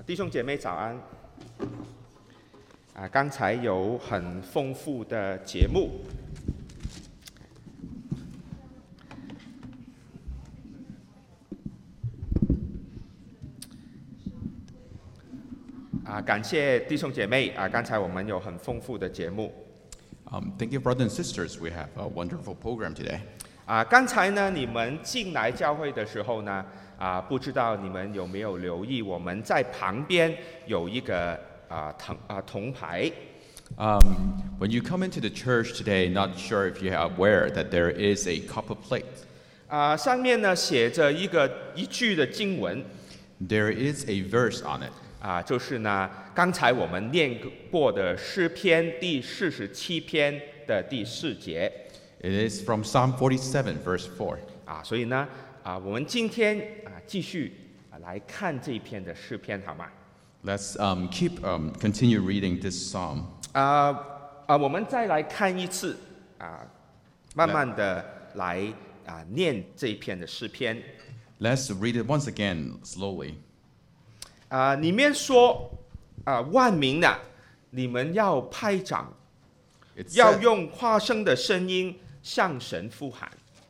弟兄姐妹早安。刚才有很豐富的節目。感謝弟兄姐妹剛才我們有很豐富的節目。 Thank you, brothers and sisters. We have a wonderful program today. 剛才呢，你們進來教會的時候呢，不知道你們有沒有留意，我們在旁邊有一個銅牌。 When you come into the church today, not sure if you are aware that there is a copper plate. 上面呢寫着一句的經文。 There is a verse on it. 就是呢，剛才我們念過的詩篇第47篇的第4節。 It is from Psalm 47, verse 4. 所以呢，我們今天繼續來看這一篇的詩篇，好嗎？ Let's continue reading this psalm. 我們再來看一次，慢慢的來念這一篇的詩篇。 Let's read it once again, slowly. 裡面說，萬民啊，你們要拍掌，要用誇聲的聲音向神呼喊。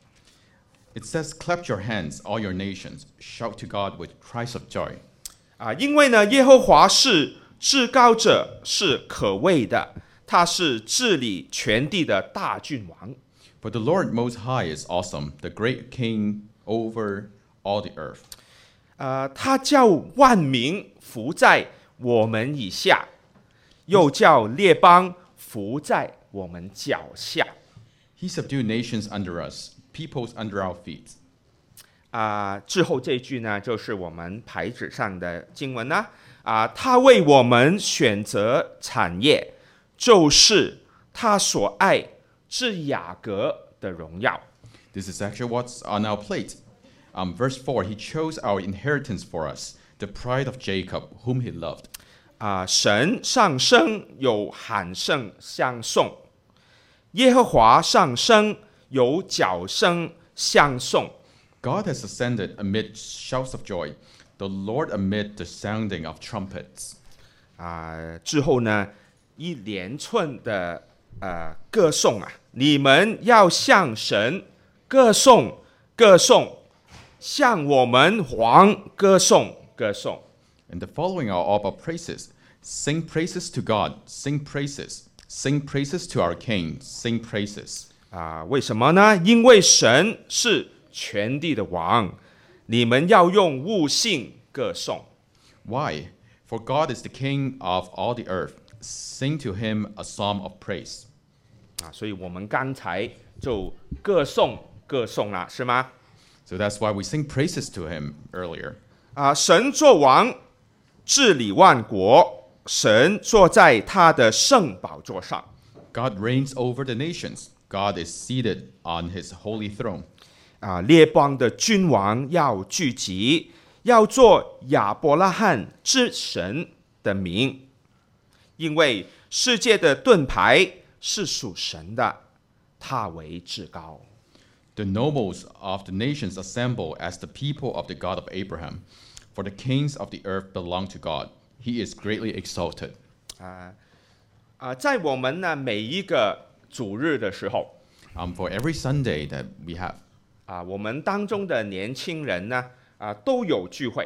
It says, "Clap your hands, all your nations, shout to God with cries of joy." 因為呢，耶和華是至高者，是可畏的，他是治理全地的大君王。 For the Lord Most High is awesome, the great King over all the earth. 他叫萬民服在我們以下，又叫列邦服在我們腳下。 He subdued nations under us, peoples under our feet. 之後這句呢，就是我們牌子上的經文啦。他為我們選擇產業，就是他所愛之雅各的榮耀。 This is actually what's on our plate. Verse 4, He chose our inheritance for us, the pride of Jacob, whom He loved. 神上升有喊聲相送，耶和華上升有角聲相送。 God has ascended amid shouts of joy, the Lord amid the sounding of trumpets. 之後呢，一連串的歌頌你們要向神歌頌歌頌，向我們王歌頌歌頌。 And the following are all our praises. Sing praises to God, sing praises. Sing praises to our King, sing praises. 為什麼呢？因為神是全地的王，你們要用悟性歌頌。 Why? For God is the King of all the earth. Sing to Him a psalm of praise. 所以我們剛才就歌頌了，是嗎？ So that's why we sing praises to Him earlier. 神作王，治理萬國，神坐在他的聖寶座上。 God reigns over the nations. God is seated on His holy throne. 列邦的君王要聚集，要做亞伯拉罕之神的名，因為世界的盾牌是屬神的，他為至高。 The nobles of the nations assemble as the people of the God of Abraham. For the kings of the earth belong to God. He is greatly exalted. 在我們呢每一個主日的時候 ，for every Sunday that we have, 我們當中的年輕人呢都有聚會。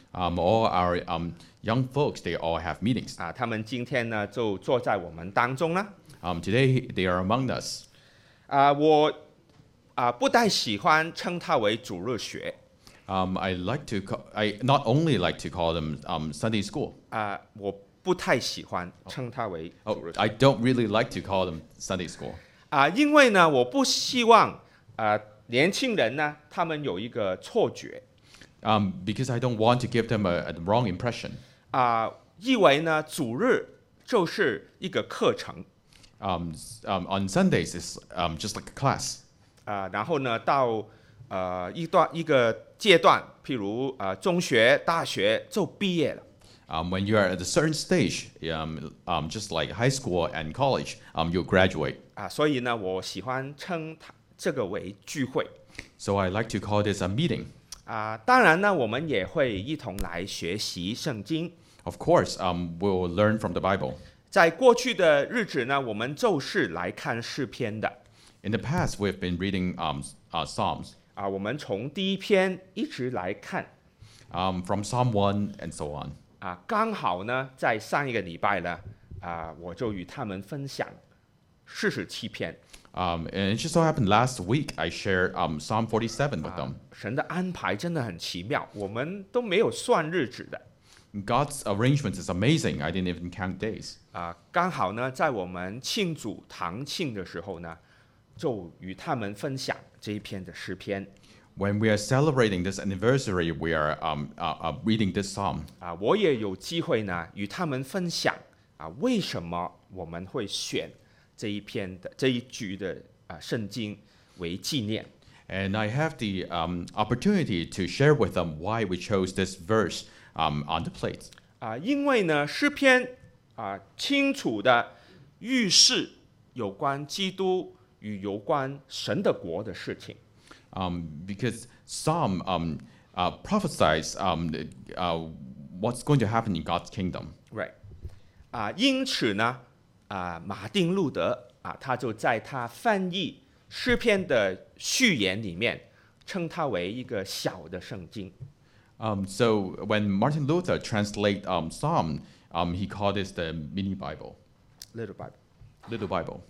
all our young folks, they all have meetings. 他們今天呢就坐在我們當中啦。 Today they are among us. 我不太喜歡稱它為主日學。 I not only like to call them Sunday school. 我不太喜歡稱它為主日學。 I don't really like to call them Sunday school. 因為呢，我不希望年輕人呢，他們有一個錯覺。 Because I don't want to give them a wrong impression. 以為呢，主日就是一個課程。 On Sundays is just like a class. 然後呢，到一個階段，譬如中學、大學就畢業了。 When you are at a certain stage, just like high school and college, you'll graduate. 所以呢，我喜歡稱這個為聚會。 So I like to call this a meeting. 當然呢，我們也會一同來學習聖經。 Of course, we'll learn from the Bible. 在过去的日子呢，我們就是來看詩篇的。 In the past, we've been reading Psalms. 我們從第一篇一直來看。 From Psalm 1 and so on. 剛好呢，在上一個禮拜呢，我就與他們分享47篇。 And it just so happened last week I shared Psalm 47 with them. 神的安排真的很奇妙，我們都沒有算日子的。 God's arrangement is amazing. I didn't even count days. 剛好呢，在我們慶祝堂慶的時候呢，就與他們分享這一篇的詩篇。 When we are celebrating this anniversary, we are reading this psalm. 我也有機會呢，與他們分享為什麼我們會選這一句的聖經為紀念。 And I have the opportunity to share with them why we chose this verse on the plate. 因為呢，詩篇清楚的預示有關基督與有關神的國的事情。 Because Psalm prophesies what's going to happen in God's kingdom. Right. 因此呢，馬丁路德他就在他翻譯詩篇的序言裡面，稱它為一個小的聖經。 So when Martin Luther translated Psalm, he called it the mini Bible. Little Bible. Little Bible.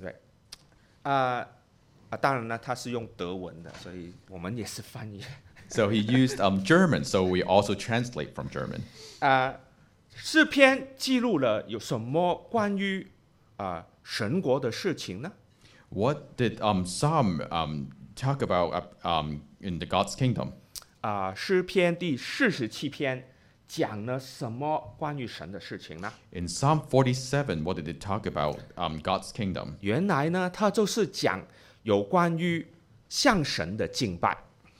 Right. 當然呢，他是用德文的，所以我們也是翻譯。 So he used German, so we also translate from German. 詩篇記錄了有什麼關於神國的事情呢？ What did Psalm talk about in the God's kingdom? 詩篇第47篇講了什麼關於神的事情呢？ In Psalm 47, what did it talk about God's kingdom? 原來呢，它就是講有關於向神的敬拜。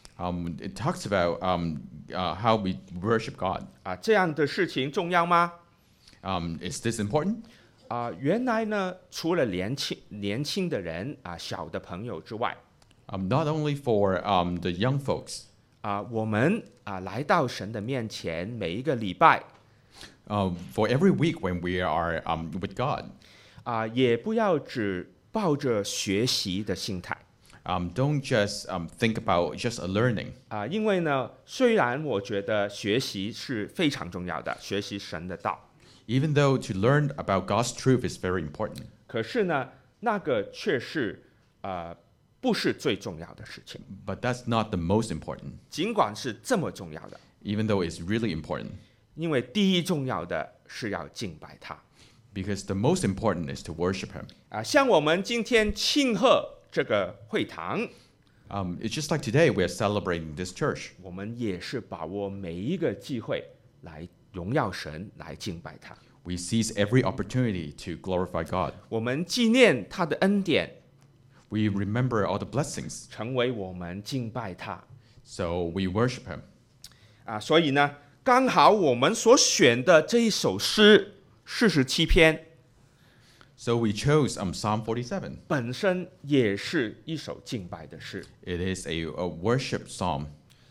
It talks about how we worship God. 這樣的事情重要嗎？ Is this important? 原來呢，除了年輕的人小的朋友之外， Not only for the young folks. 我們來到神的面前，每一個禮拜， For every week when we are with God. 也不要只抱着學習的心態。 Don't just think about just a learning. 因為呢，雖然我覺得學習是非常重要的，學習神的道。 Even though to learn about God's truth is very important. 可是呢，那個卻是不是最重要的事情。 But that's not the most important. 儘管是這麼重要的。 Even though it's really important. 因為第一重要的是要敬拜他。 Because the most important is to worship Him. 像我們今天慶賀這個會堂。 It's just like today we are celebrating this church. 我們也是把握每一個機會來榮耀神，來敬拜他。 We seize every opportunity to glorify God. 我們紀念他的恩典。 We remember all the blessings. 成為我們敬拜他。 So we worship Him. 所以呢，剛好我們所選的這一首詩47篇。 So we chose Psalm 47. 本身也是一首敬拜的詩。 It is a worship psalm.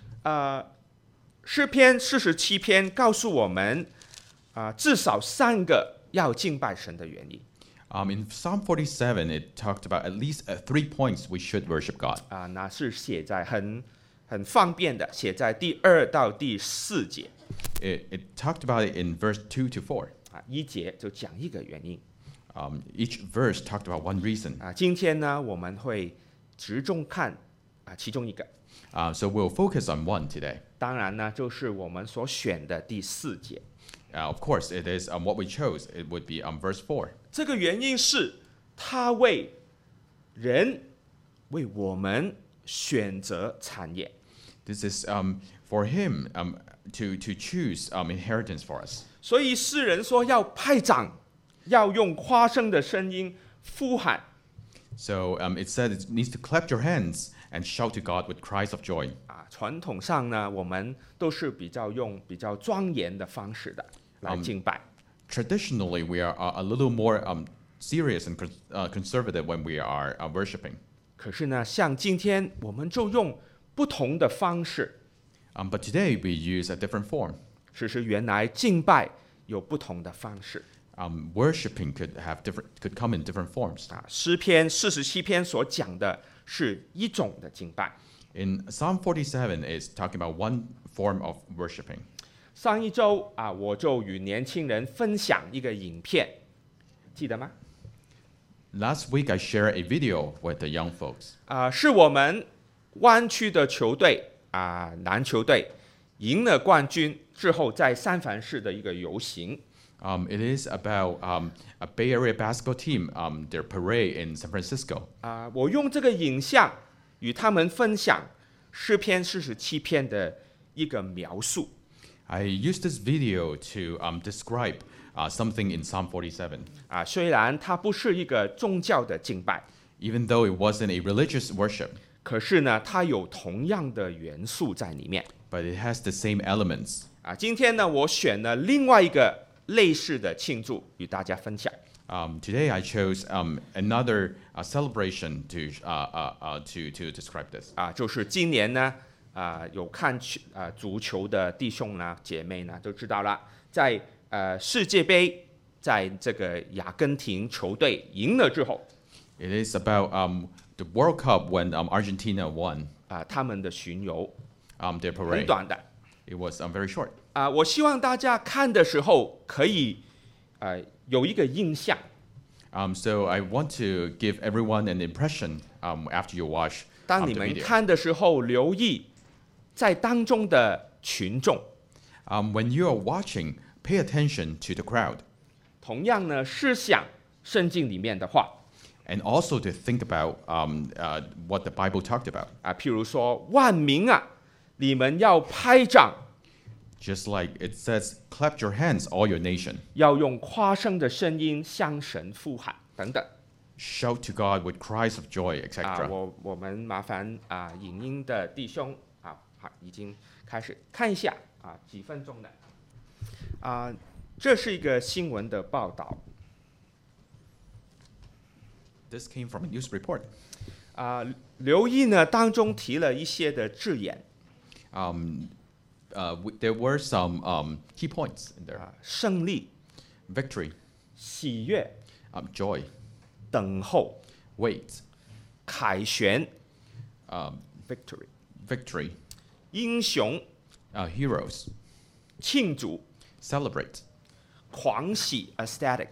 詩篇47篇告訴我們至少3個要敬拜神的原因。 In Psalm 47, it talked about at least 3 points we should worship God. 那是寫在很方便的，寫在第2到第4節。 It talked about it in verse 2 to 4. 一節就講一個原因。 Each verse talked about one reason. 今天呢，我們會集中看其中一個。 So we'll focus on one today. 當然呢，就是我們所選的第4節。 Of course, it is what we chose. It would be verse 4. 這個原因是他為我們選擇產業。 This is for Him to choose inheritance for us. 所以詩人說要拍掌，要用誇聲的聲音呼喊。 So it said it needs to clap your hands and shout to God with cries of joy. 傳統上呢，我們都是用比較莊嚴的方式的來敬拜。 Traditionally, we are a little more serious and conservative when we are worshiping. 可是呢，像今天我們就用不同的方式。 But today we use a different form. 其實原來敬拜有不同的方式。 Worshipping could come in different forms. 詩篇47篇所講的是一種的敬拜。 In Psalm 47 is talking about one form of worshipping. 上一周我就與年輕人分享一個影片，記得嗎？ Last week I shared a video with the young folks. 是我們灣區的球隊籃球隊贏了冠軍之後，在三藩市的一個遊行。 It is about a Bay Area basketball team, their parade in San Francisco. 我用這個影像與他們分享詩篇47篇的一個描述。 I used this video to describe something in Psalm 47. 雖然它不是一個宗教的敬拜 Even though it wasn't a religious worship, 可是呢，它有同樣的元素在裡面。 but it has the same elements. 今天呢，我選了另外一個類似的慶祝與大家分享。 Today I chose another celebration to describe this. 就是今年呢，有看足球的弟兄呢、姐妹呢，都知道了，在世界杯，在這個阿根廷球隊贏了之後 It is about the World Cup when Argentina won 他們的巡遊 their 很 parade. 短的。 It was very short. 我希望大家看的時候可以有一個印象。 So I want to give everyone an impression after you watch 當 the 你們 video. 看的時候，留意在當中的群眾。 When you are watching, pay attention to the crowd. 同樣呢，思想聖經裡面的話。 And also to think about what the Bible talked about. 譬如說，萬民你們要拍掌。 Just like it says, clap your hands, all your nation. 要用誇勝的聲音向神呼喊等等。 Shout to God with cries of joy, etc. 我們麻煩影音的弟兄好，已經開始看一下幾分鐘的這是一個新聞的報道。 This came from a news report. 留意呢，當中提了一些的字眼。 There were some key points in there. 勝利、 Victory, 喜悅、 joy, 等候、 wait, 凱旋、victory、 victory, 英雄、 heroes, 慶祝、 celebrate. 狂喜 ecstatic。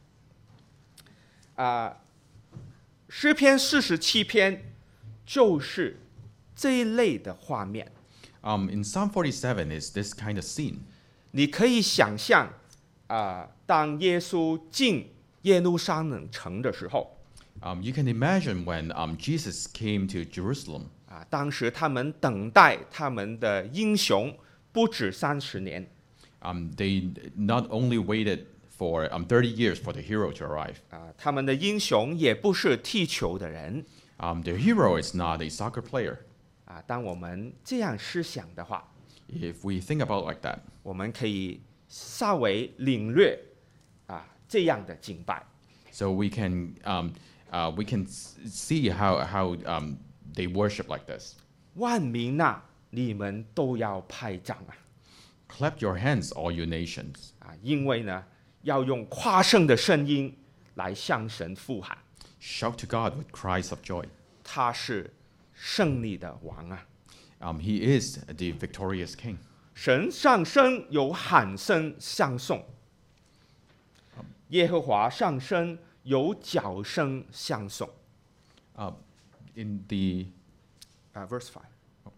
詩篇47篇就是這一類的畫面。 In Psalm 47 is this kind of scene. 你可以想象當耶穌進耶路撒冷城的時候 You can imagine when Jesus came to Jerusalem. 當時他們等待他們的英雄不止30年。 They not only waited for 30 years for the hero to arrive. 他們的英雄也不是踢球的人。 The hero is not a soccer player. 當我們這樣思想的話 If we think about like that, 我們可以稍微領略這樣的敬拜。 so we can see how they worship like this. 萬民你們都要拍掌 Clap your hands, all you nations. 因為呢，要用誇勝的聲音來向神呼喊。 Shout to God with cries of joy. 他是勝利的王 He is the victorious king. 神上升有喊聲相送，耶和華上升有角聲相送。 In the verse 5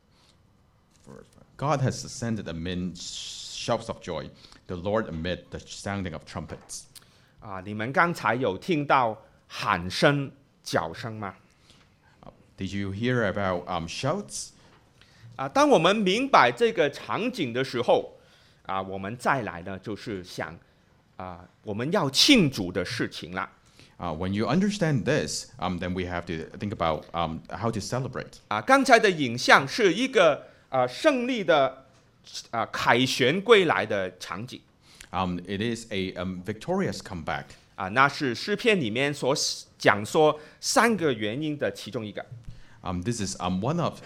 God has ascended amid shouts of joy, the Lord amid the sounding of trumpets. 你們剛才有聽到喊聲、角聲嗎？ Did you hear about shouts? 當我們明白這個場景的時候，我們再來呢，就是想我們要慶祝的事情啦。 When you understand this, then we have to think about how to celebrate. 剛才的影像是一個勝利的凱旋歸來的場景。 It is a victorious comeback. 那是詩篇裡面所講說3個原因的其中一個。 This is one of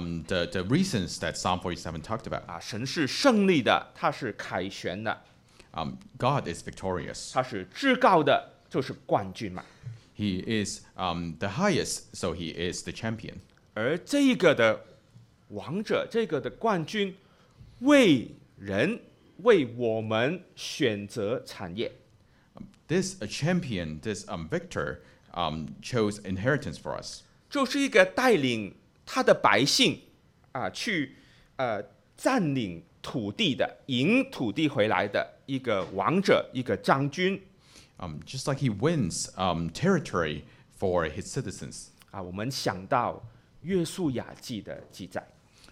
the reasons that Psalm 47 talked about. 神是勝利的，他是凱旋的。 God is victorious. 他是至高的，就是冠军嘛。 He is the highest, so he is the champion. 而这一个的王者，这个的冠军，为我们选擇產業。 This champion, this victor, chose inheritance for us. 就是一個帶領他的百姓去佔領土地的，贏土地回來的一個王者，一個將軍。 Just like he wins territory for his citizens. 我們想到約書亞記的記載。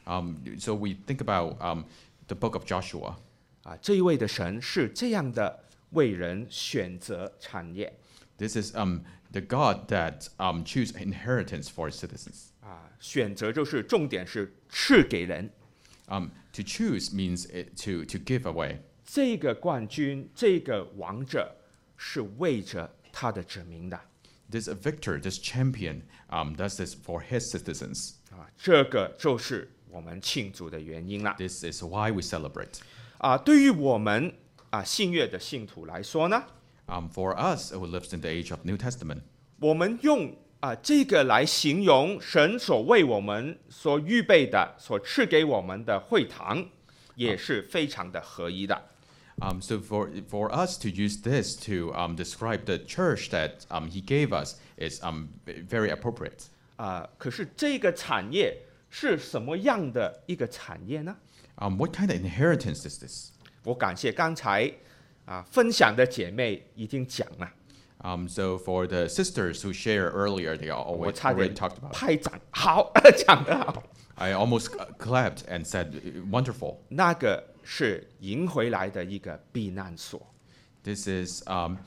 So we think about the book of Joshua. 這一位的神是這樣的為人選擇產業。 This is the God that choose inheritance for his citizens. 選擇就是重點是賜給人。 To choose means to give away. 這個冠軍，這個王者是為着他的子民的。 This victor, this champion, does this for his citizens. 這個就是我們慶祝的原因啦。 This is why we celebrate. 對於我們新約的信徒來說呢， For us who lives in the age of New Testament, 我們用這個來形容神所為我們所預備的、所賜給我們的會堂，也是非常的合宜的。 So for us to use this to describe the church that he gave us is very appropriate. 可是這個產業是什麼樣的一個產業呢？ What kind of inheritance is this? 我感謝剛才分享的姐妹已經講了。 So for the sisters who shared earlier, they 我差點 already talked about it. 拍掌，好，講得好。 I almost clapped and said, "Wonderful." 那個是贏回來的一個避難所。 This is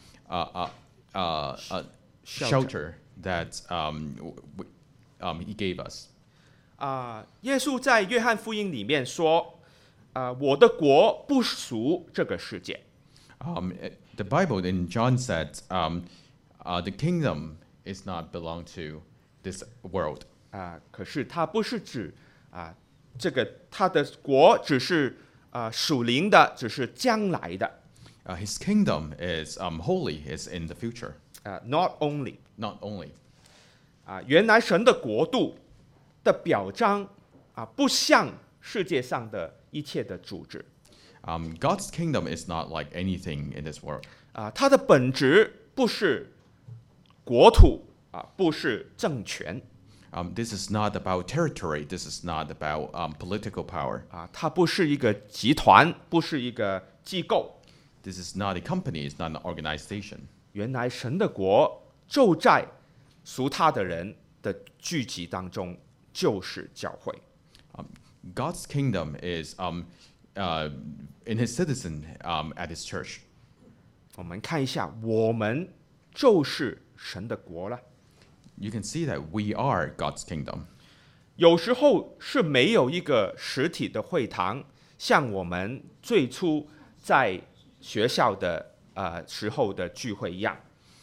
a shelter that he gave us. 耶穌在約翰福音裡面說，我的國不屬這個世界。 The Bible in John said, the kingdom is not belong to this world. 可是它不是指這個他的國只是屬靈的，只是將來的。 His kingdom is holy, is in the future. Not only. Not only. 原來神的國度的表彰不像世界上的一切的組織。 God's kingdom is not like anything in this world. 它的本質不是國土不是政權。 This is not about territory. This is not about political power. 它不是一個集團，不是一個機構。 This is not a company. It's not an organization. 原來神的國就在屬他的人的聚集當中，就是教會。 God's kingdom is in his citizen at his church. 我們看一下，我們就是神的國了。 You can see that we are God's kingdom. 有時候是沒有一個實體的會堂，像我們最初在學校的時候的聚會一樣。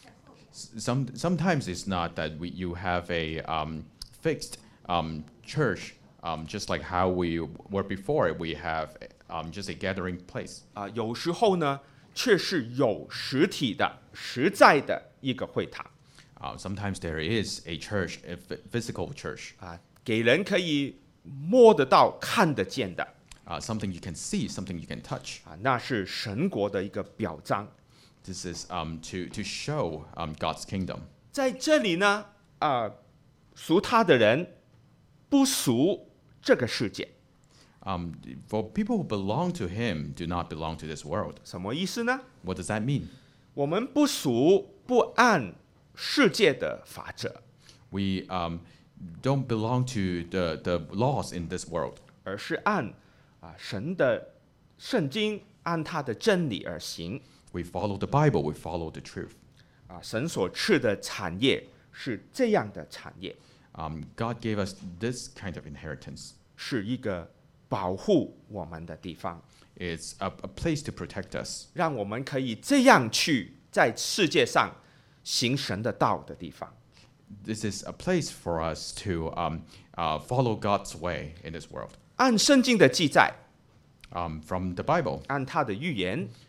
Sometimes it's not that you have a fixed church, just like how we were before. We have just a gathering place. 有時候呢，卻是有實體的、實在的一個會堂。 Sometimes there is a church, a physical church. 給人可以摸得到、看得見的。 Something you can see, something you can touch. 那是神國的一個表彰。 This is to show God's kingdom. 在這裡呢，屬他的人不屬這個世界。 For people who belong to Him, do not belong to this world. 什麼意思呢？ What does that mean? 我們不屬不按世界的法則。 We don't belong to the laws in this world. 而是按神的聖經，按他的真理而行。 We follow the Bible. We follow the truth. 神所賜的產業是這樣的產業。 God gave us this kind of inheritance. 是一個保護我們的地方。 It's a place to protect us. 讓我們可以這樣去在世界上行神的道的地方。 This is a place for us to follow God's way in this world. 按聖經的記載， From the Bible, 按他的預言，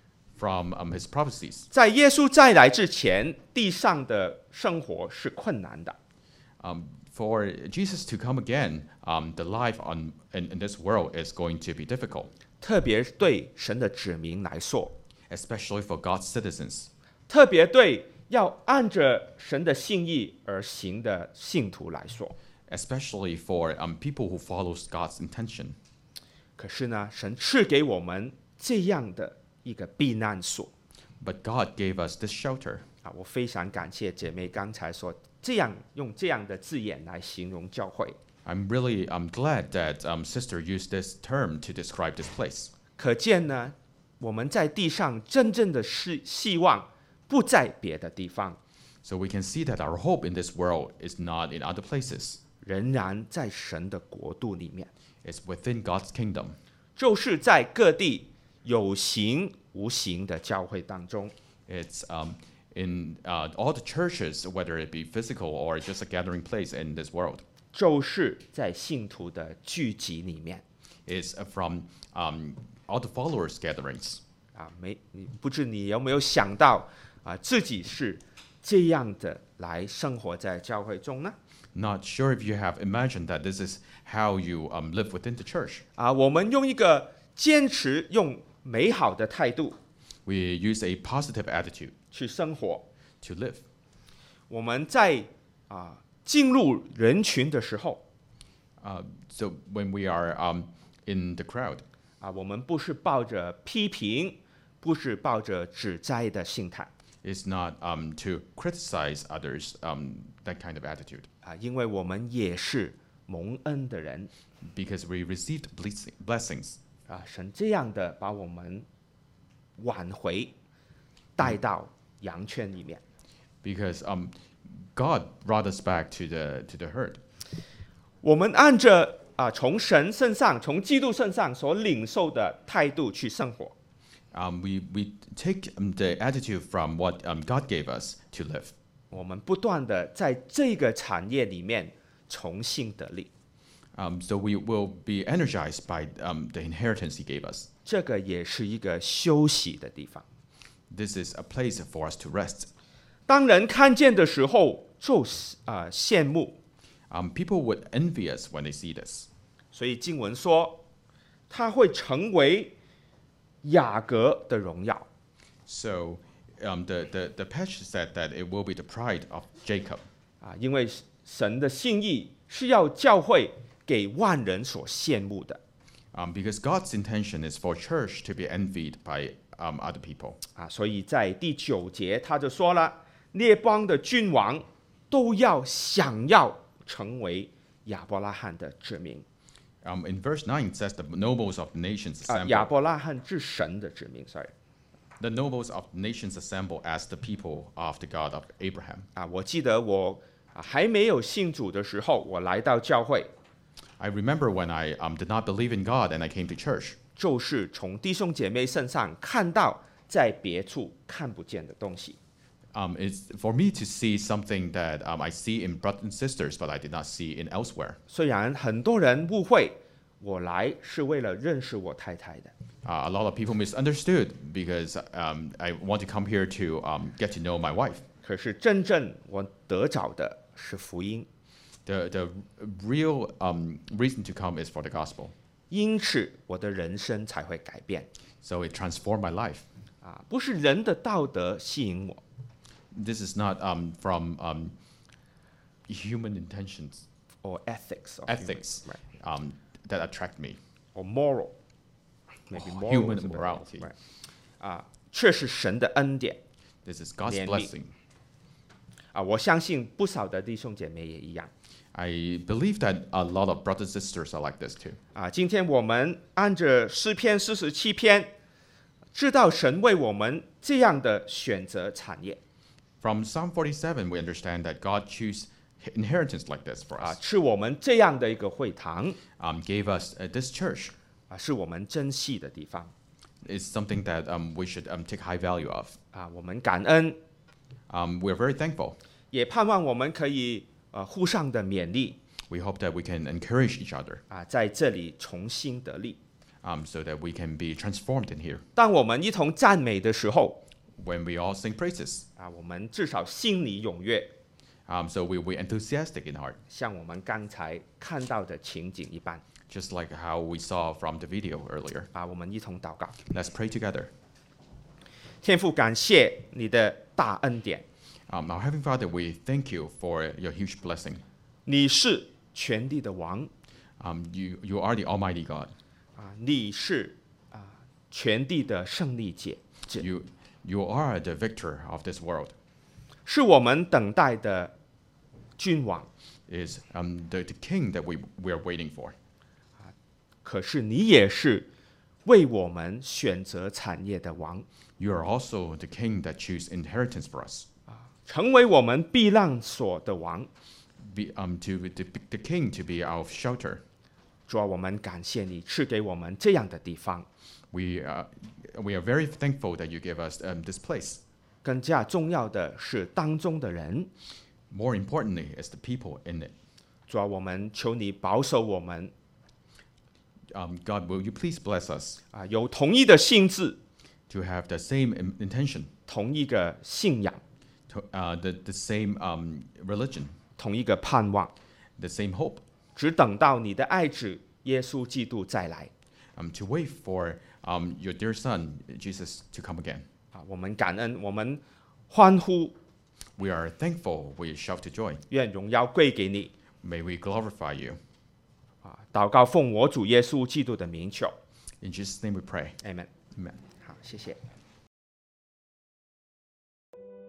from his prophecies. 在耶穌再來之前，地上的生活是困難的。 For Jesus to come again, the life in this world is going to be difficult, 特別對神的子民來說， especially for God's citizens, 特別對要按着神的心意而行的信徒來說。 especially for people who follows God's intention. 可是呢，神賜給我們這樣的一個避難所。 But God gave us this shelter. 我非常感謝姐妹剛才說用這樣的字眼來形容教會。 I'm really glad that Sister used this term to describe this place. 可見呢，我們在地上真正的希望不在別的地方， So we can see that our hope in this world is not in other places. 仍然在神的國度裡面， It's within God's kingdom. 就是在各地有形無形的教會當中。 It's in all the churches, whether it be physical or just a gathering place in this world. 就是在信徒的聚集裡面。 It's from all the followers' gatherings. 不知你有沒有想到自己是這樣的來生活在教會中呢？ Not sure if you have imagined that this is how you live within the church. 我們用一個堅持用美好的態度 We use a positive attitude 去生活。 to live. 我們在進入人群的時候 So when we are in the crowd, 我們不是抱着批評，不是抱着指摘的心態 it's not to criticize others, that kind of attitude. 因為我們也是蒙恩的人 Because we received blessings. 神這樣的把我們挽回，帶到羊圈裡面。 Because God brought us back to the herd. 我們按着從神身上、從基督身上所領受的態度去生活。 We take the attitude from what God gave us to live. 我們不斷的在這個產業裡面重新得力。 So we will be energized by the inheritance He gave us. 這個也是一個休息的地方。 This is a place for us to rest. 當人看見的時候，就羨慕。 People would envy us when they see this. 所以經文說，他會成為雅各的榮耀。 So the passage said that it will be the pride of Jacob. 因為神的心意是要教會給萬人所羨慕的。 Because God's intention is for church to be envied by other people. 所以在第9節他就說了，列邦的君王都想要成為亞伯拉罕的子民。 In verse 9 it says the nobles of the nations assemble. 亞伯拉罕之神的子民 ，sorry。 The nobles of the nations assemble as the people of the God of Abraham. 我記得我還沒有信主的時候，我來到教會， I remember when I did not believe in God and I came to church. 就是從弟兄姐妹身上看到在別處看不見的東西。 It's for me to see something that I see in brothers and sisters, but I did not see in elsewhere. 雖然很多人誤會我來是為了認識我太太的， A lot of people misunderstood because I want to come here to get to know my wife. 可是真正我得着的是福音， The real reason to come is for the gospel. 因此我的人生才會改變。 So it transformed my life. 不是人的道德吸引我， This is not from human intentions, or ethics, of ethics, human, right. that attract me. or moral, maybe moral Human is a better morality. word, right. 卻是神的恩典。 This is God's 怜悯。 blessing. 我相信不少的弟兄姐妹也一樣。 I believe that a lot of brothers and sisters are like this too. 今天我們按着詩篇47篇，知道神為我們這樣的選擇產業。 From Psalm 47, we understand that God chose inheritance like this for us. 是我們這樣的一個會堂， Gave us this church. 是我們珍惜的地方。 Is something that we should take high value of. 我們感恩， We're very thankful. 也盼望我們可以互相的勉勵， We hope that we can encourage each other. 在這裡重新得力。 so that we can be transformed in here. 当我们一同讚美的時候， When we all sing praises, 我們至少心裡踴躍， so we'll be enthusiastic in heart, 像我們剛才看到的情景一般。 just like how we saw from the video earlier. 我們一同禱告。 Let's pray together. 天父，感謝你的大恩典， Our Heavenly Father, we thank you for your huge blessing. 你是全地的王， You are the Almighty God. 你是全地的勝利者， You are the victor of this world. 是我們等待的君王。 Is the king that we are waiting for. 可是你也是为我們選擇產業的王， You are also the king that choose inheritance for us. 成為我們避難所的王。 To the king to be our shelter. 主啊，我們感謝你賜給我們這樣的地方。 We are very thankful that you give us this place. 更加重要的是當中的人。 More importantly, is the people in it. 主啊，我們求你保守我們。 God, will you please bless us? 有同一的心志， To have the same intention, 同一個信仰， the same religion, 同一個盼望， the same hope. 只等到你的愛子耶穌基督再來。 To wait for your dear Son Jesus to come again. 我們感恩，我們歡呼， We are thankful. We shout to joy. 願榮耀歸給你。 May we glorify you. 禱告奉我主耶穌基督的名求。 In Jesus' name we pray. Amen。 Amen. 好，謝謝。